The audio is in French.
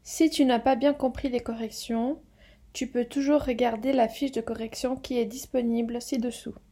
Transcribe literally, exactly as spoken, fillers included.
Si tu n'as pas bien compris les corrections, tu peux toujours regarder la fiche de correction qui est disponible ci-dessous.